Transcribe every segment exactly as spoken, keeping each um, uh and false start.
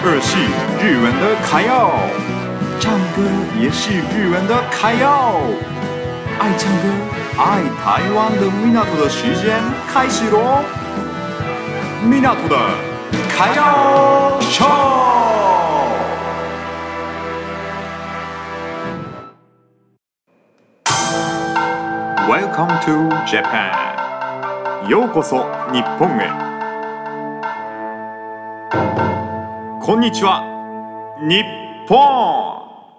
二是日文的卡要，唱歌也是日文的卡要。爱唱歌、爱台湾的港的时间开始喽！港的卡要秀。Welcome to Japan. ようこそ日本へ。こんにちは、日本。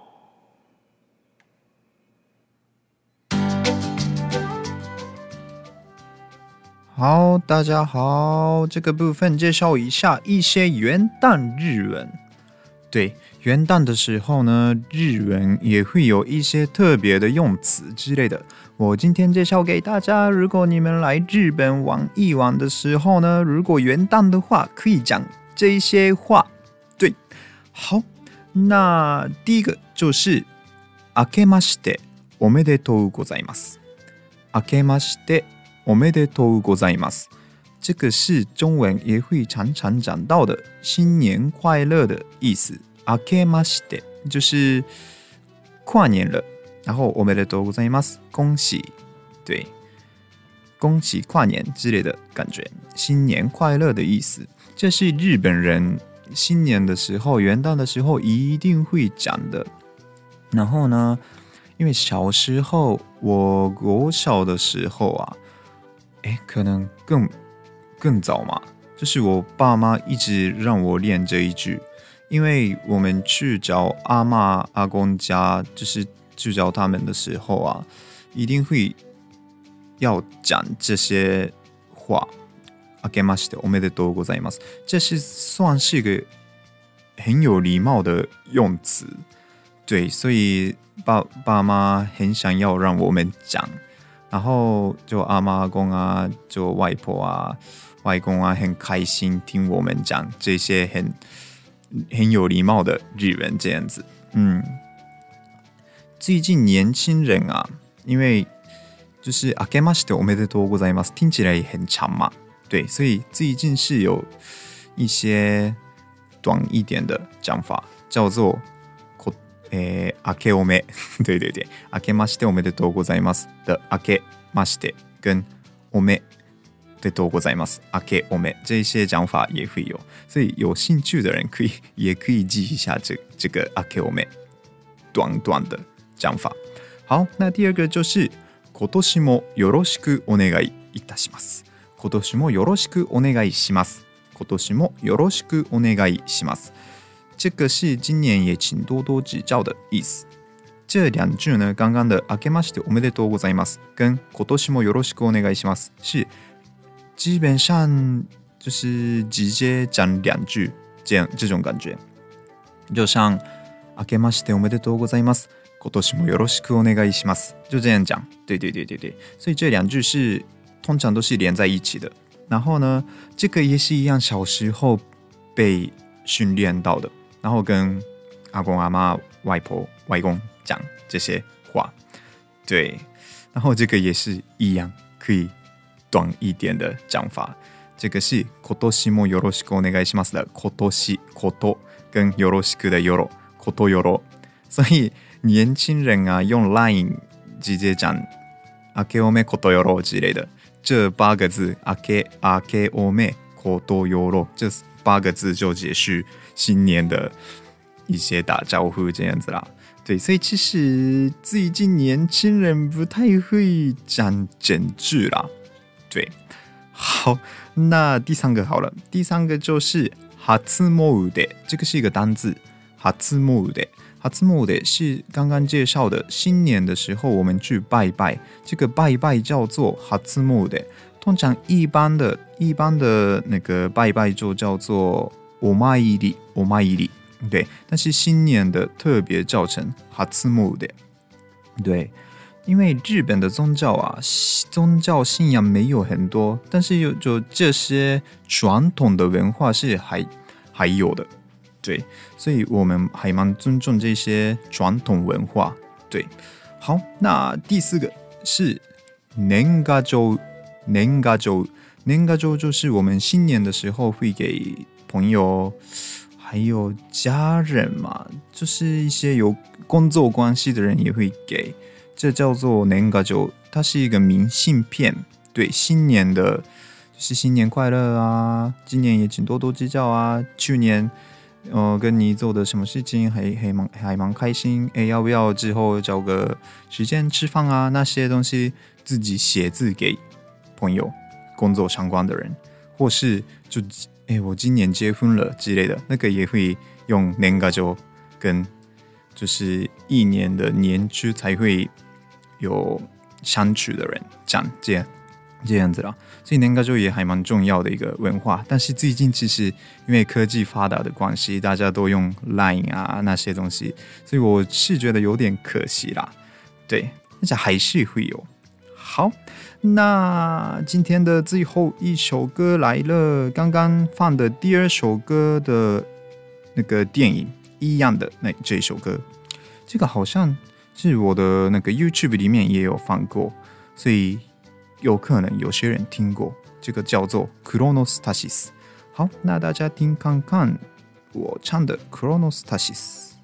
好，大家好，这个部分介绍一下一些元旦日文。对，元旦的时候呢，日文也会有一些特别的用词之类的。我今天介绍给大家，如果你们来日本玩一玩的时候呢，如果元旦的话，可以讲这些话。对，好，那第一个就是明けましておめでとうございます。明けましておめでとうございます。这个是中文也会常常讲到的新年快乐的意思。明けまして就是跨年了，然后おめでとうございます恭喜，对，恭喜跨年之类的感觉，新年快乐的意思。这是日本人新年的时候、元旦的时候一定会讲的。然后呢，因为小时候我国小的时候啊，哎，可能更更早嘛，就是我爸妈一直让我练这一句，因为我们去找阿嬷阿公家，就是去找他们的时候啊，一定会要讲这些话。明けましておめでとうございます，这是算是一个很有礼貌的用词，对，所以爸爸妈很想要让我们讲。然后就阿嬷阿公啊，就外婆啊、外公啊，很开心听我们讲这些很很有礼貌的日文这样子。嗯，最近年轻人啊，因为就是明けましておめでとうございます听起来很长嘛，对，所以最近是有一些短一点的讲法，叫做えー、明けおめ对对对，明けましておめでとうございます的明けまして跟おめでとうございます明けおめ这些讲法也会有，所以有兴趣的人可以也可以记一下这这个明けおめ短短的讲法。好，那第二个就是今年もよろしくお願いいたします。今年もよろしくお願いします。今年もよろしくお願いします。这个是今年也请多多指教的意思。这两句呢，刚刚的明けましておめでとうございます跟今年もよろしくお願いします是基本上就是直接讲两句，这样这种感觉，就像明けましておめでとうございます今年もよろしくお願いします就这样讲。对对对对对，所以这两句是通常都是连在一起的。然后呢，这个也是一样，小时候被训练到的。然后跟阿公阿妈、外婆、外公讲这些话，对，然后这个也是一样，可以短一点的讲法。这个是今年もよろしくお願いします的今年こと跟よろしく的よろことよろ，所以年轻人啊用 Line 直接讲明けおめことよろ之类的，这八个字明け明けおめことよろ，这八个字就解释新年的一些打招呼这样子啦。对，所以其实最近年轻人不太会讲整句啦。对，好，那第三个好了，第三个就是初詣，这个是一个单字，初詣。初詣是刚刚介绍的新年的时候我们去拜拜，这个拜拜叫做初詣。通常一般的一般的那个拜拜就叫做お参りお参り，对，但是新年的特别叫成初詣。对，因为日本的宗教啊，宗教信仰没有很多，但是有就这些传统的文化是还还有的，对，所以我们还蛮尊重这些传统文化。对，好，那第四个是年賀状。年賀状，年賀状就是我们新年的时候会给朋友还有家人嘛，就是一些有工作关系的人也会给，这叫做年賀状，它是一个明信片，对，新年的就是新年快乐啊，今年也请多多指教啊，去年呃跟你做的什么事情还还蛮还蛮开心，哎，要不要之后找个时间吃饭啊？那些东西自己写字给朋友、工作相关的人，或是就哎我今年结婚了之类的，那个也会用年賀状跟就是一年的年初才会有相处的人讲这样这样子啦，所以年賀状也还蛮重要的一个文化。但是最近其实因为科技发达的关系，大家都用 Line 啊那些东西，所以我是觉得有点可惜啦。对，但是还是会有。好，那今天的最后一首歌来了，刚刚放的第二首歌的那个电影一样的那这一首歌，这个好像是我的那个 YouTube 里面也有放过，所以有可能有些人听过，这个叫做 Chronostasis。好，那大家听看看我唱的 Chronostasis。